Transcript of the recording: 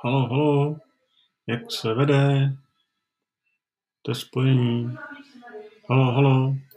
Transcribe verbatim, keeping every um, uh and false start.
Haló, haló, jak se vede? To je spojení. Haló, haló.